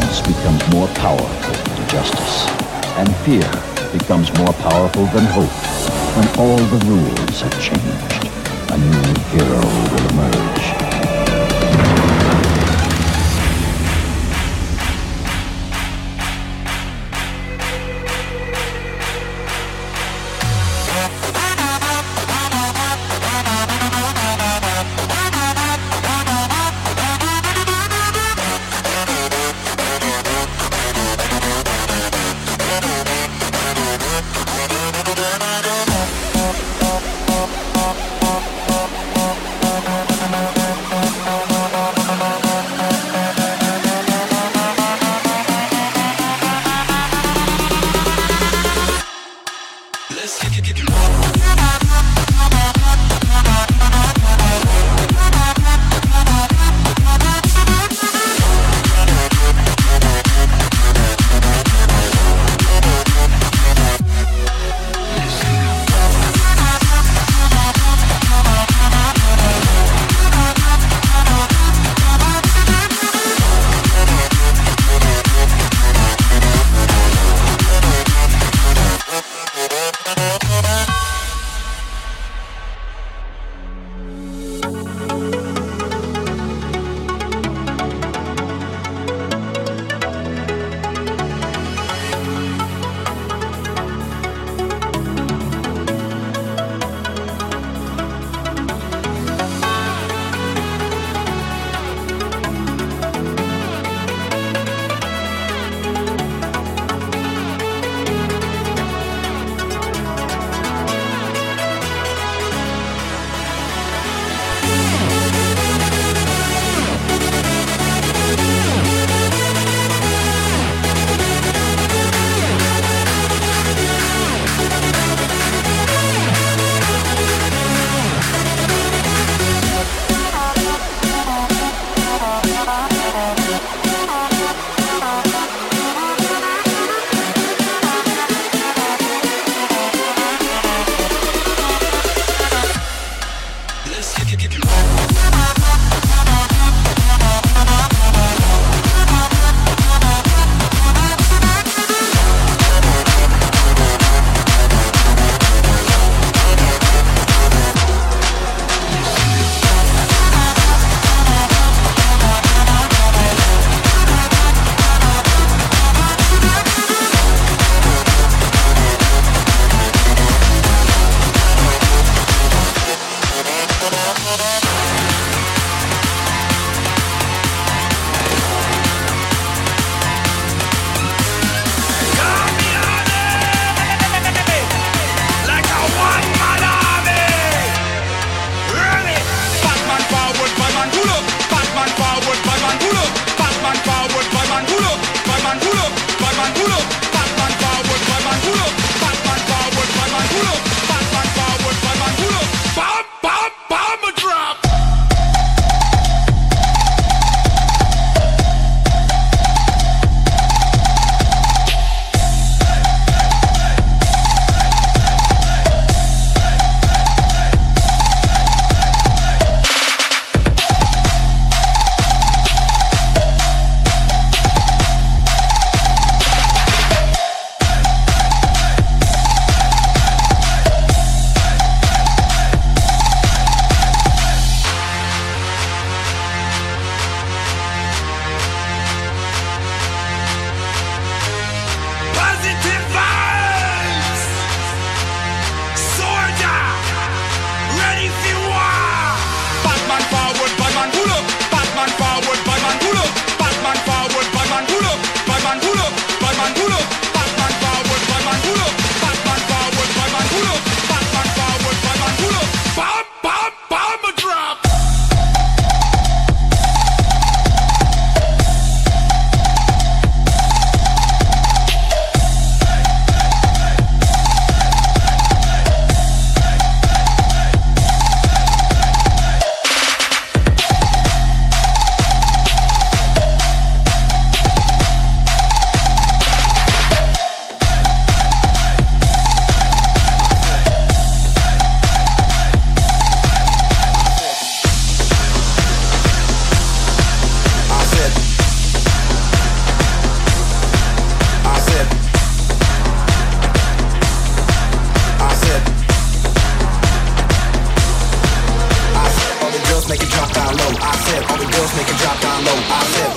Ignorance becomes more powerful than justice, and fear becomes more powerful than hope. When all the rules have changed, a new hero will emerge.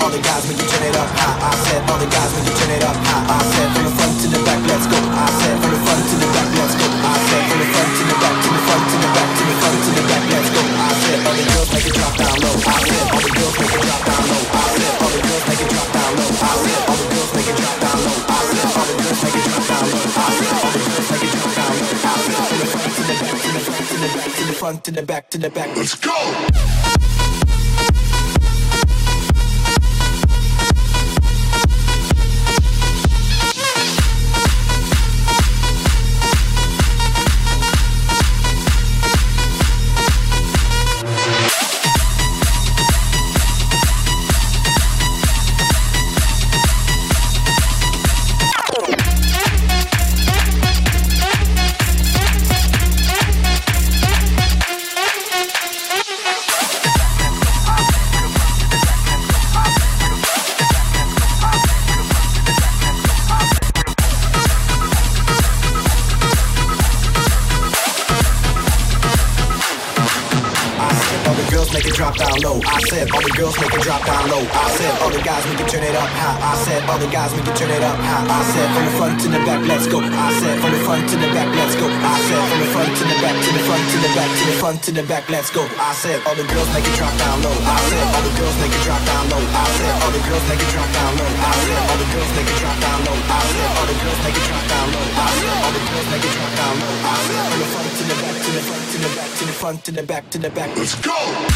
all the guys when you turn it up high. I said all the guys when you turn it up high. I said from the front to the back, let's go. I said from the front to the back, let's go. I said from the front to the back, to the front to the back, to the front to the back, let's go. I said all the girls make it drop down low. I said all the girls make it drop down low. I said all the girls make it drop down low. I said all the girls make it drop down low. I said all the girls make it drop down low. I said all the girls make it drop down low. I said from the front to the back, to the front to the back, to the front to the back, to the back. Let's go. Make it drop down low. I said all the girls make it drop down low. I said all the guys we can turn it up high. I said all the guys we can turn it up high. I said from the front to the back, let's go. I said from the front to the back, let's go. I said from the front to the back, to the front to the back, to the front to the back, let's go. I said all the girls make it drop down low. I said all the girls make it drop down low. I said all the girls make it drop down low. I said all the girls make it drop down low. I said all the girls make it drop down low. I said all the girls make it drop down low. I said from the front to the back, to the front to the back, to the front to the back, to the back. Let's go.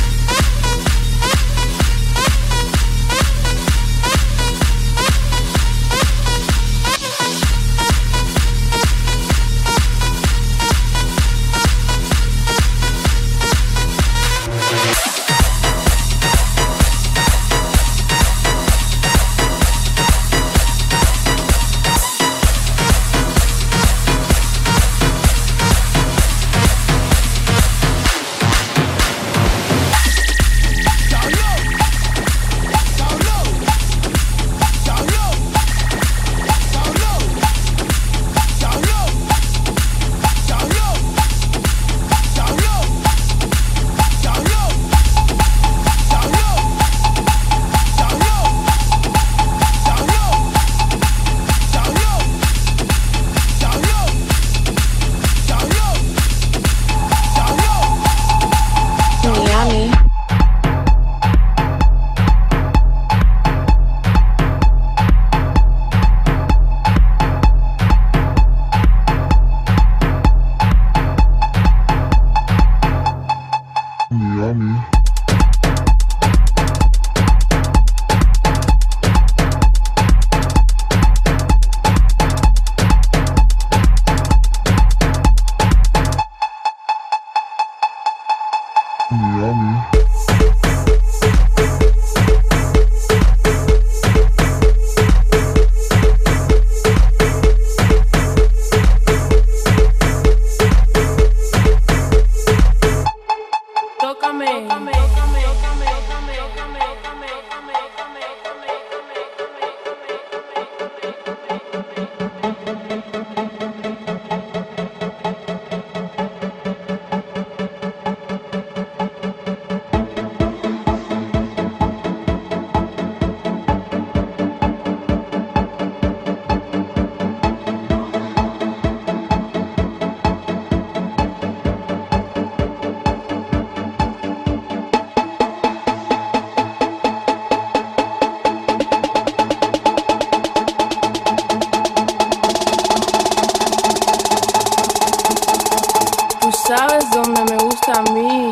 ¿Sabes dónde me gusta a mí?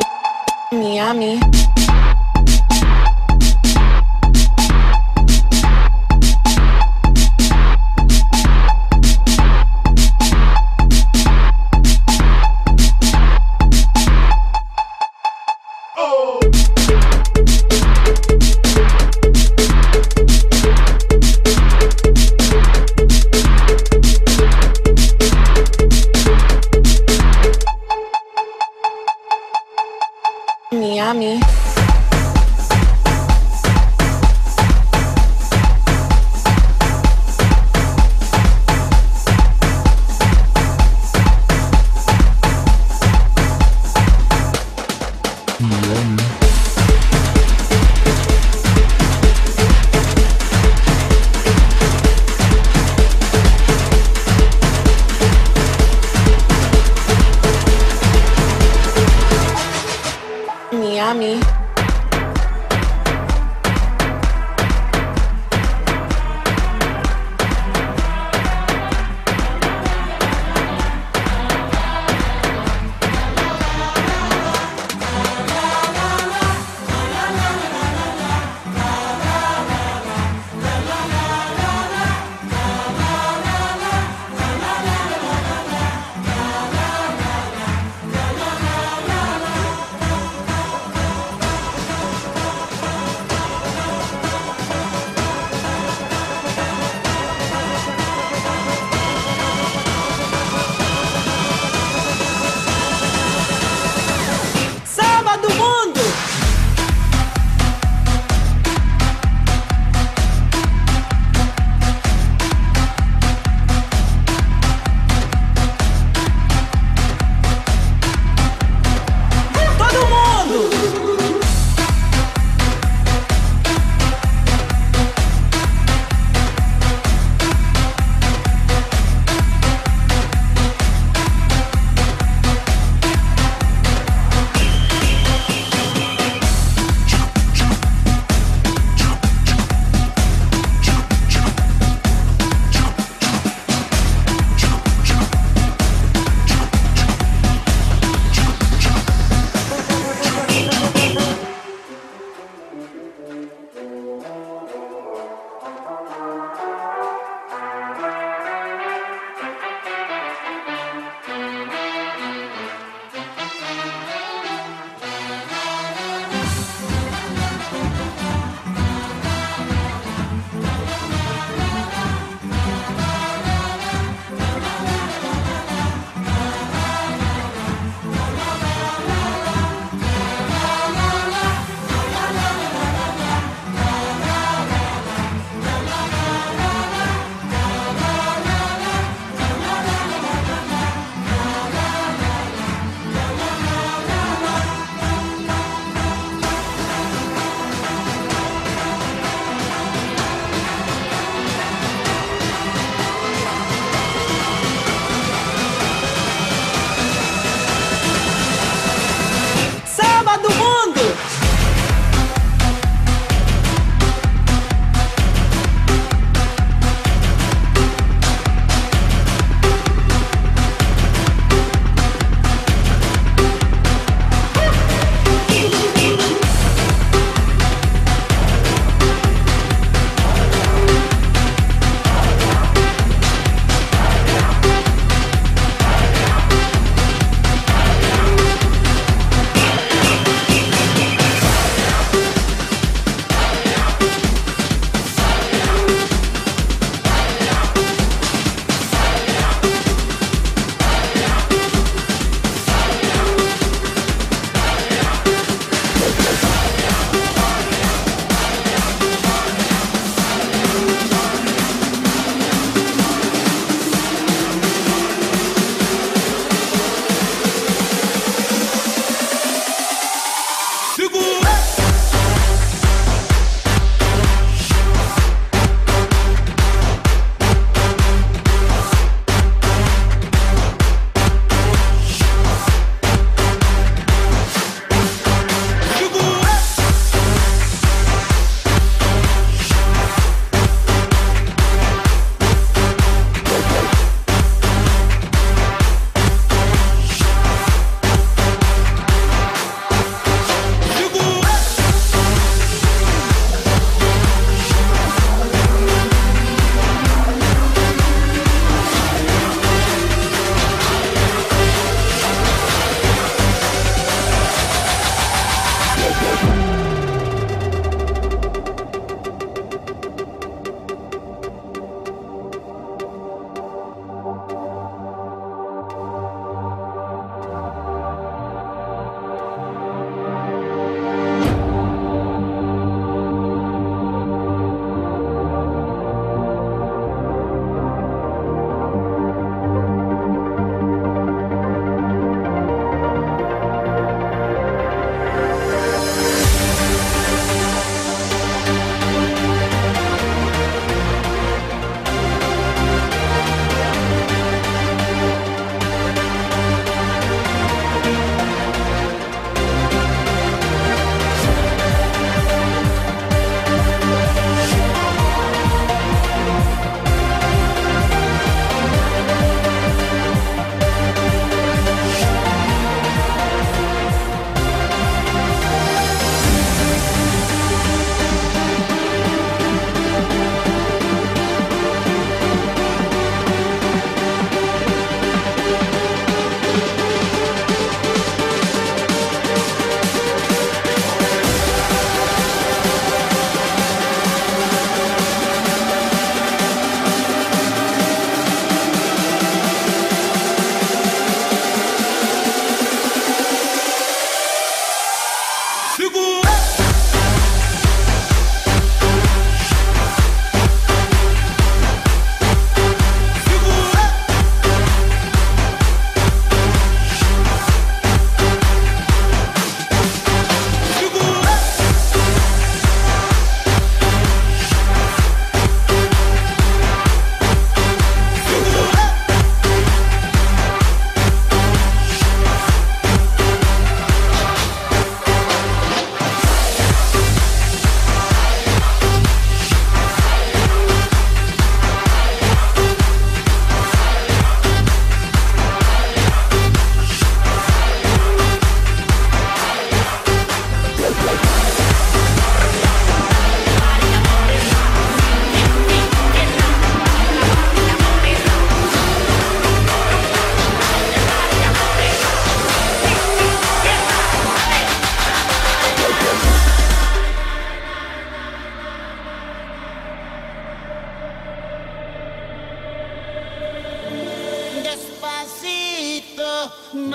Miami. Miami.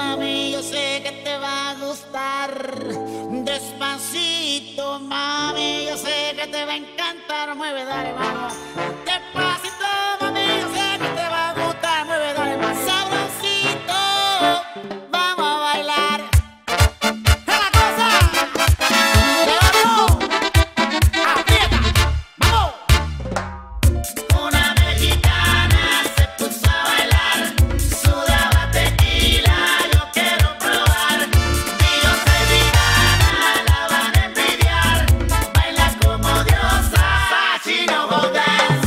Mami, yo sé que te va a gustar. Despacito, mami, yo sé que te va a encantar. Mueve, dale, vamos. Despacito, mami, yo sé que te va a gustar. Mueve, dale, más sabrosito. Vamos a bailar. ¡Es la cosa! ¡Llévatelo! ¡Aprieta! ¡Vamos! Una mexicana se puso a bailar. Sudaba tequila, yo quiero probar. Y yo soy vegana, la van a envidiar. Baila como diosa, she no go dance.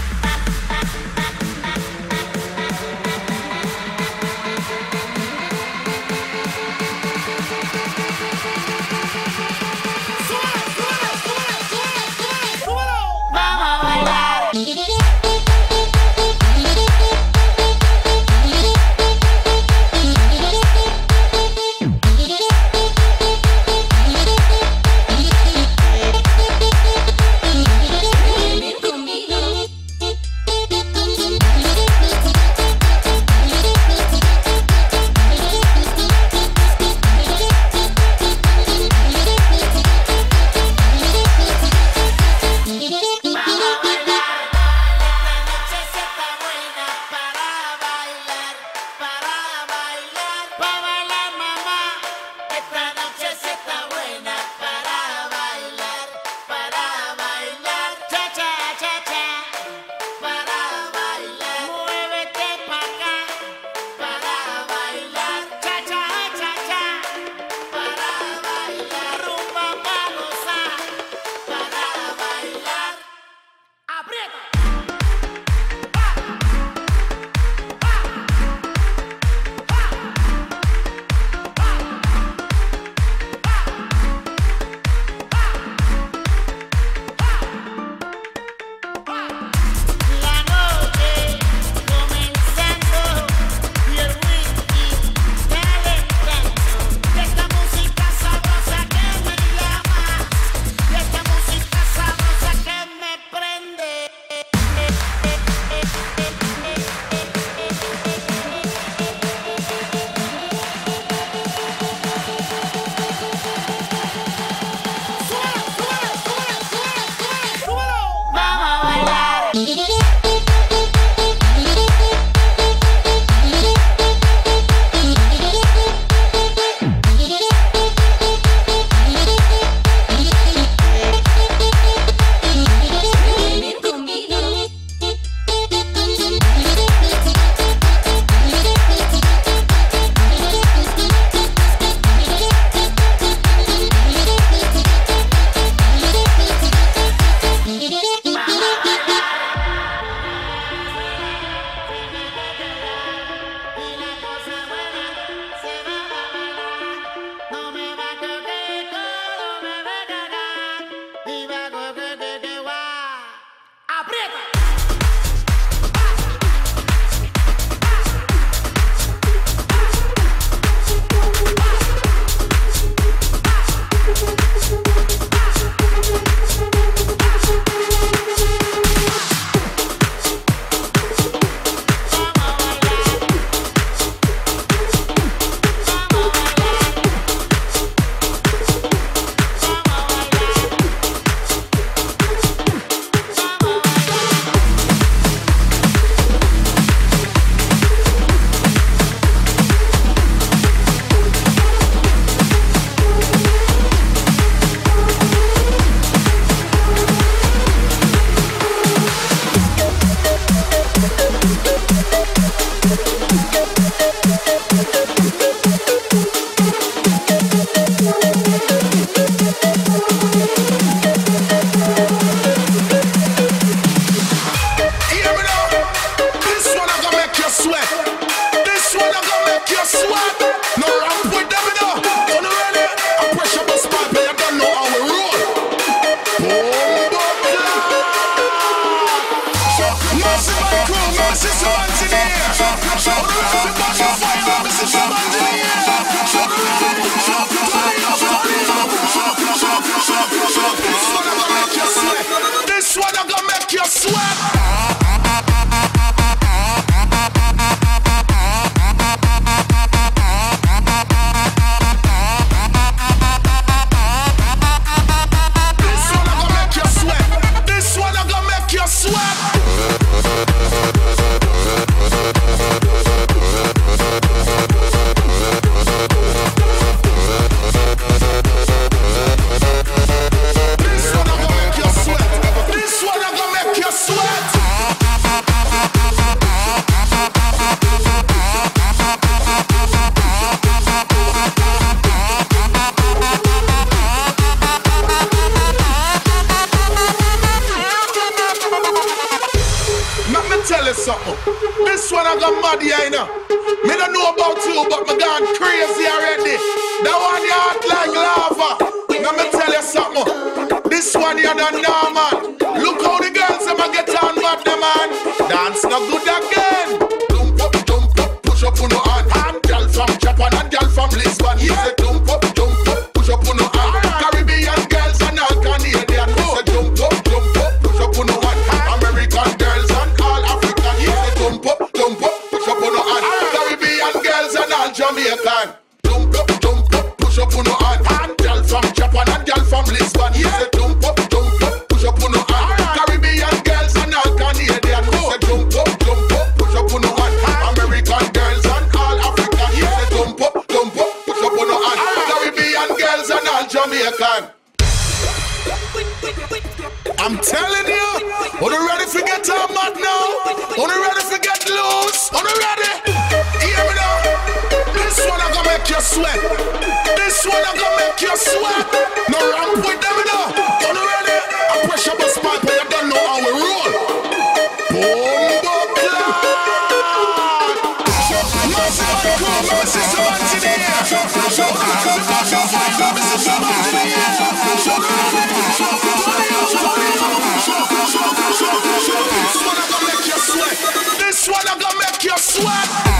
Vamos a bailar. tell you something. This one I got mad here, you know. Me don't know about you, but me gone crazy already. That one you hot like lava. Now me tell you something. This one you don't know, man. Look how the girls them a get on bad, them man. Dance no good again. Jump up, push up on your hand. And girl from Japan and girl from Lisbon. He say jump up, push up on your hand. Caribbean girls and all Canadian. He say jump up, push up on your hand. American girls and all African. He say jump up, push up on your hand. Caribbean girls and all Jamaican. Jump up, push up on your hand. And girl from Japan and girl from Lisbon. He say jump up, push up on your hand. Caribbean girls and all Canadian. He say jump up, push up on your hand. American girls and all African. He say jump up, push up on your hand. Caribbean girls and all Jamaican. I'm telling you, are you ready for get on mad now? Are you ready for get loose? Are you ready? Hear me now. This one I gonna make you sweat. This one I gonna make you sweat. No ramp with them now. Are you ready? I pressure my spot, but you don't know how we roll. Bombo clap. Massive and cool, massive savant in the air. This one I gonna make you sweat. This one I gonna make you sweat.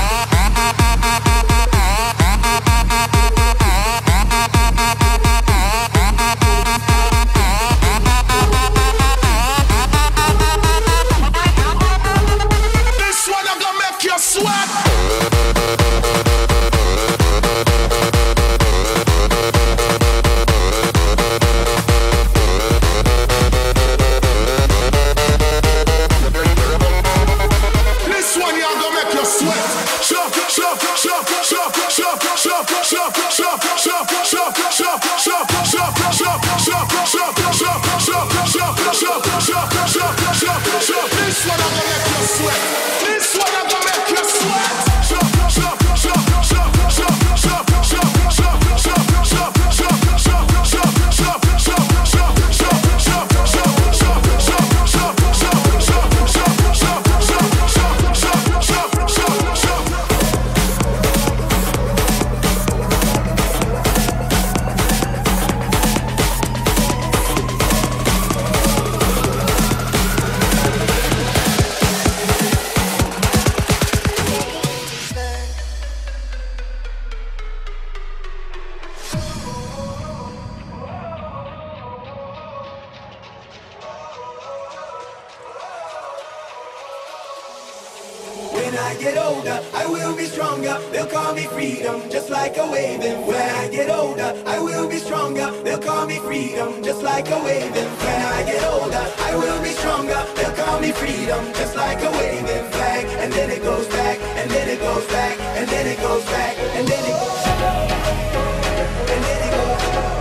When I get older, I will be stronger. They'll call me freedom, just like a waving. When I get older, I will be stronger. They'll call me freedom, just like a waving. When I get older, I will be stronger. They'll call me freedom, just like a waving flag. And then it goes back, and then it goes back, and then it goes back, and then it goes back, and then it goes back.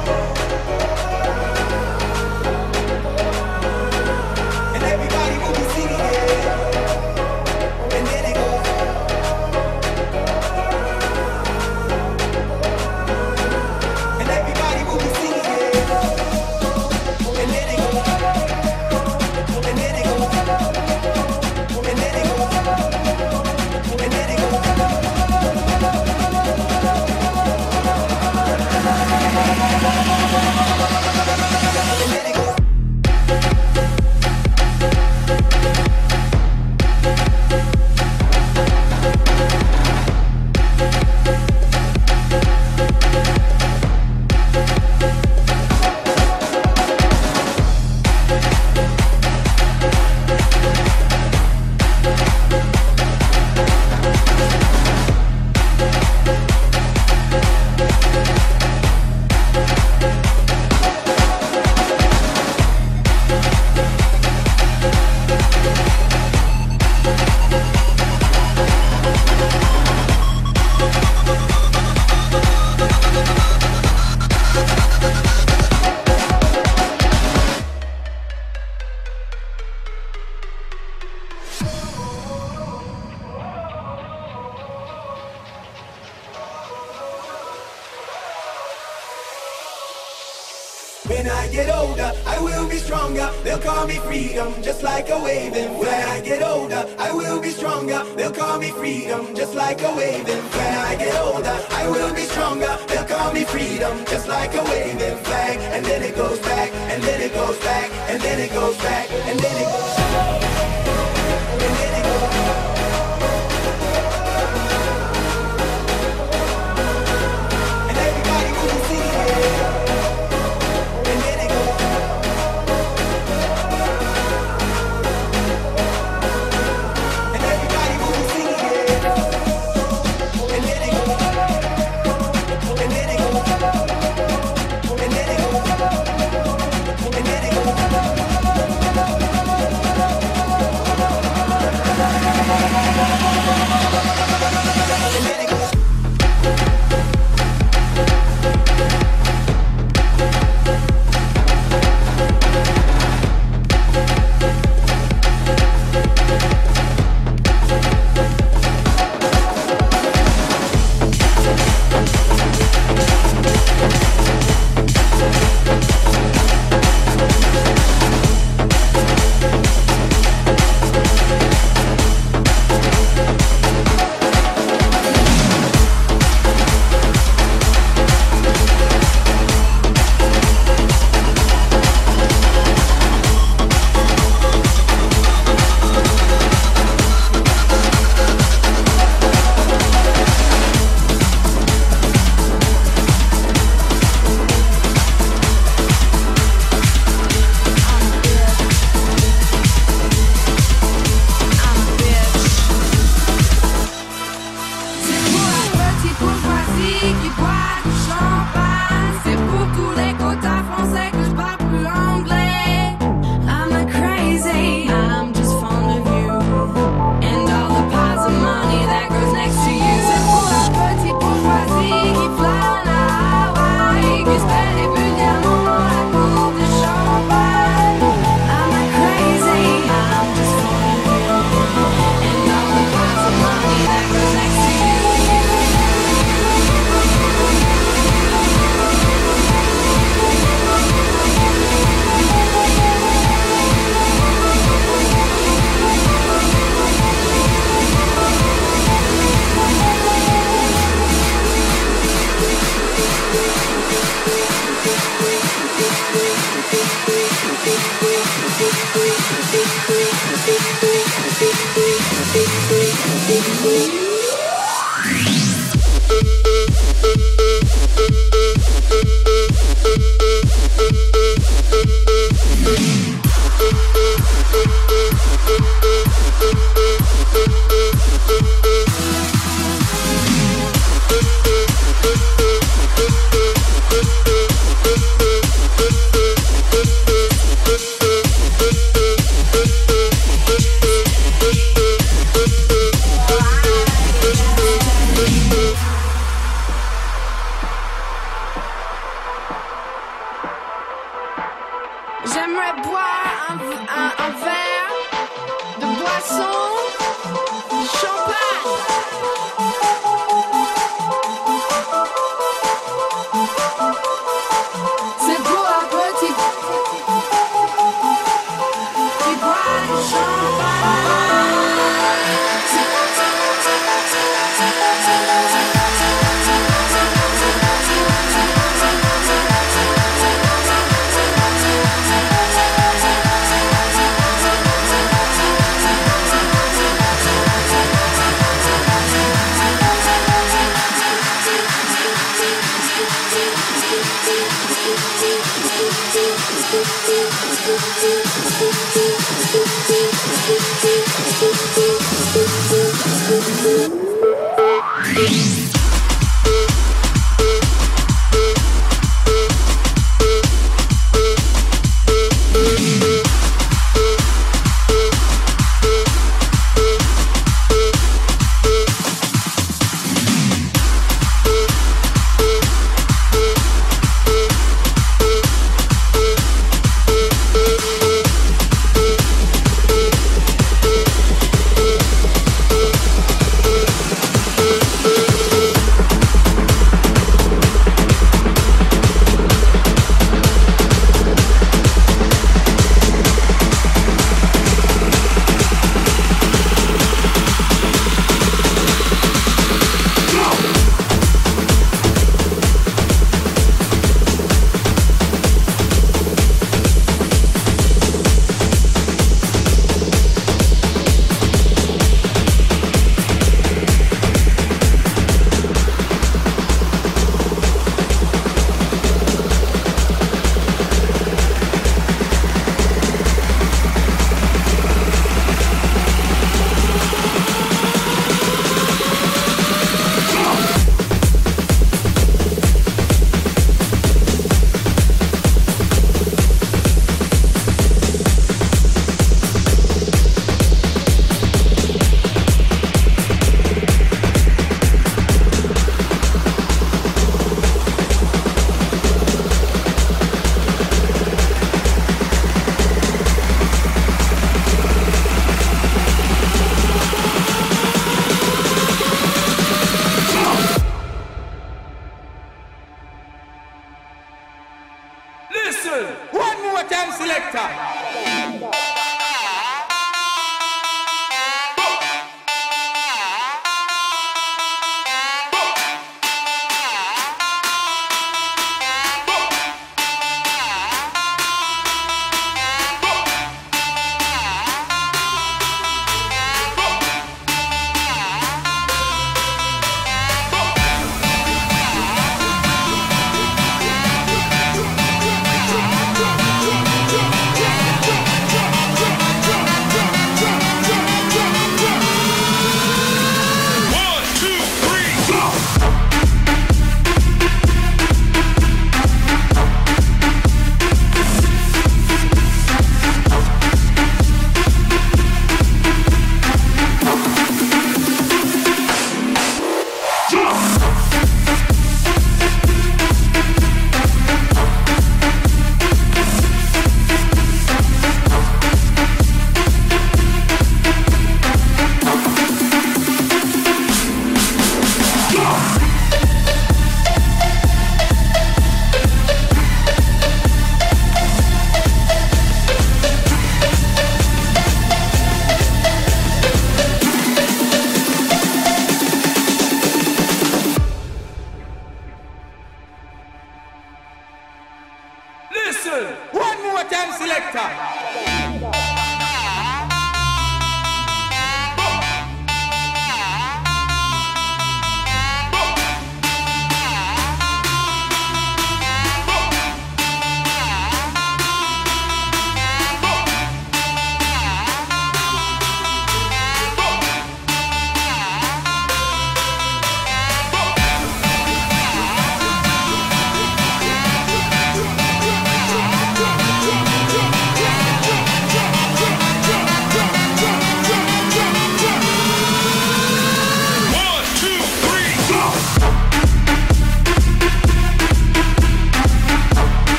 And everybody will be singing it. When I get older, I will be stronger. They'll call me freedom, just like a waving. When I get older, I will be stronger. They'll call me freedom, just like a waving. When I get older, I will be stronger. They'll call me freedom, just like a waving flag. And then it goes back, and then it goes back, and then it goes back, and then it goes back, and then it goes back. And everybody will see it. And then it goes back. And everybody will see it. And then it goes back. And then it goes back. And then it goes back. And then it goes back.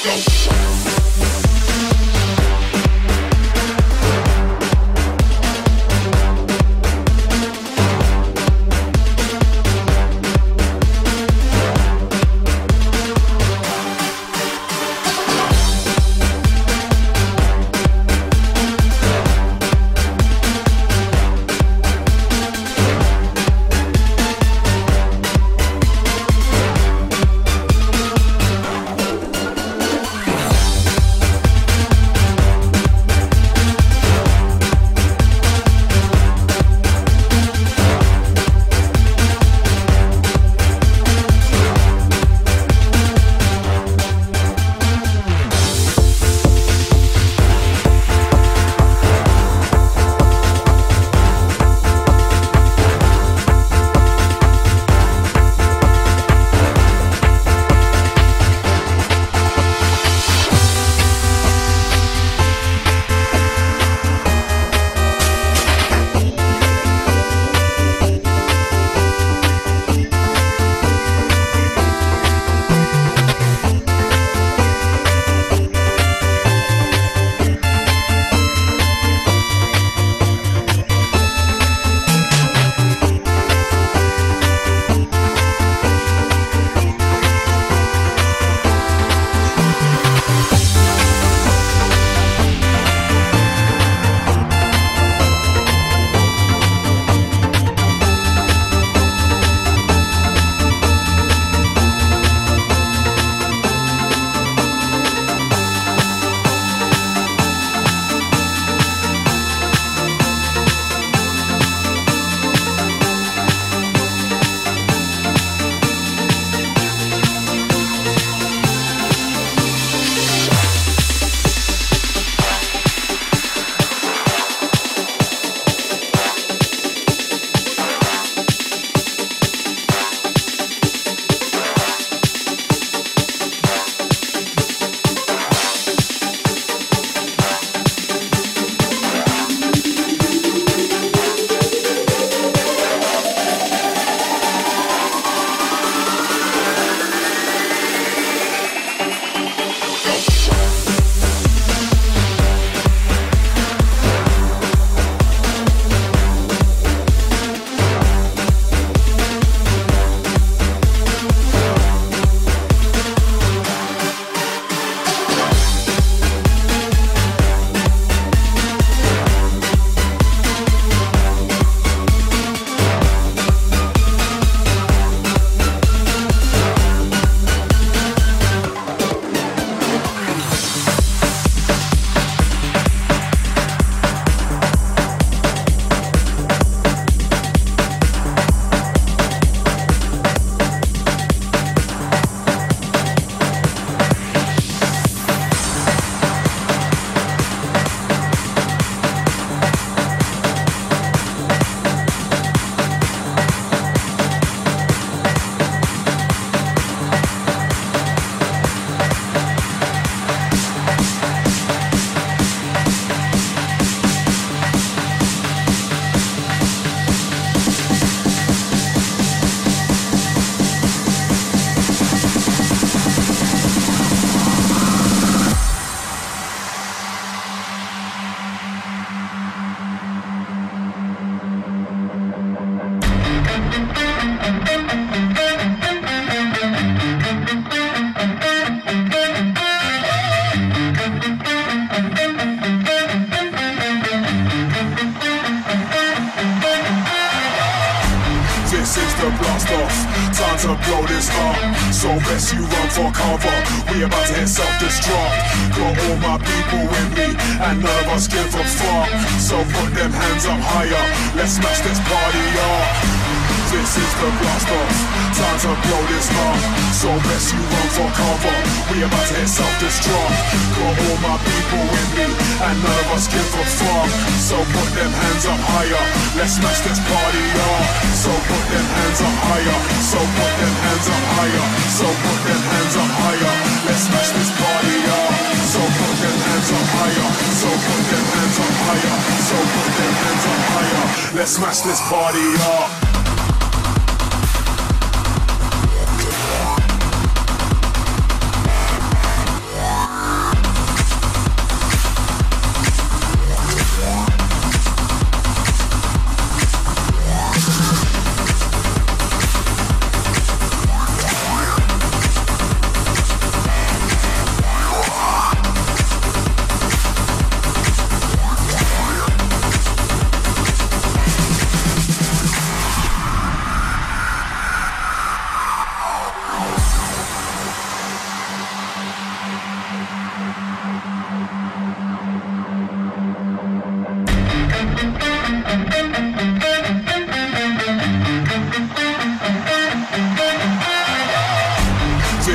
to blow this up. So best you run for cover. We about to hit self-destruct. Got all my people with me, and none of us give a fuck. So put them hands up higher. Let's smash this party up. This is the blast off. Time to blow this up. So best you run for cover. We about to hit self-destruct. Got all my people with me, and none of us give a fuck. So put them hands up higher. Let's smash this party up. So put them hands up higher. So put them hands up higher. So put them hands up higher. Let's smash this party up. So put them hands up higher. So put them hands up higher. So put them hands up higher. Let's smash this party up.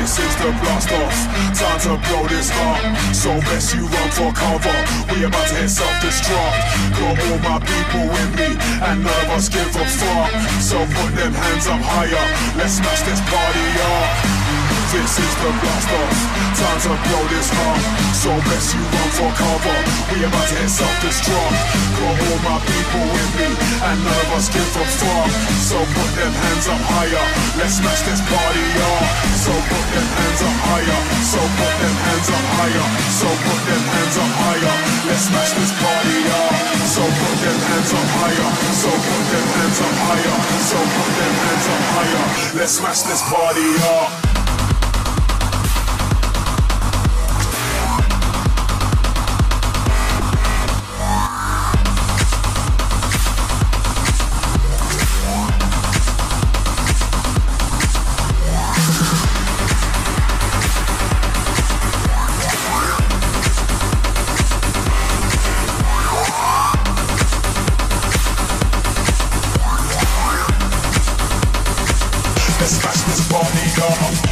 This is the blast off, time to blow this up. So best you run for cover, we about to hit self-destruct. Got all my people with me, and none of us give a fuck. So put them hands up higher, let's smash this party up. This is the blast off, time to blow this up. So best you run for cover, we about to hit self-destruct. Got all my people with me, and none of us give a fuck. So put them hands up higher, let's smash this party up. So put them hands up higher, so put them hands up higher, so put them hands up higher, let's smash this party up. So put them hands up higher, so put them hands up higher, so put them hands up higher, let's smash this party up. Let's smash this party up.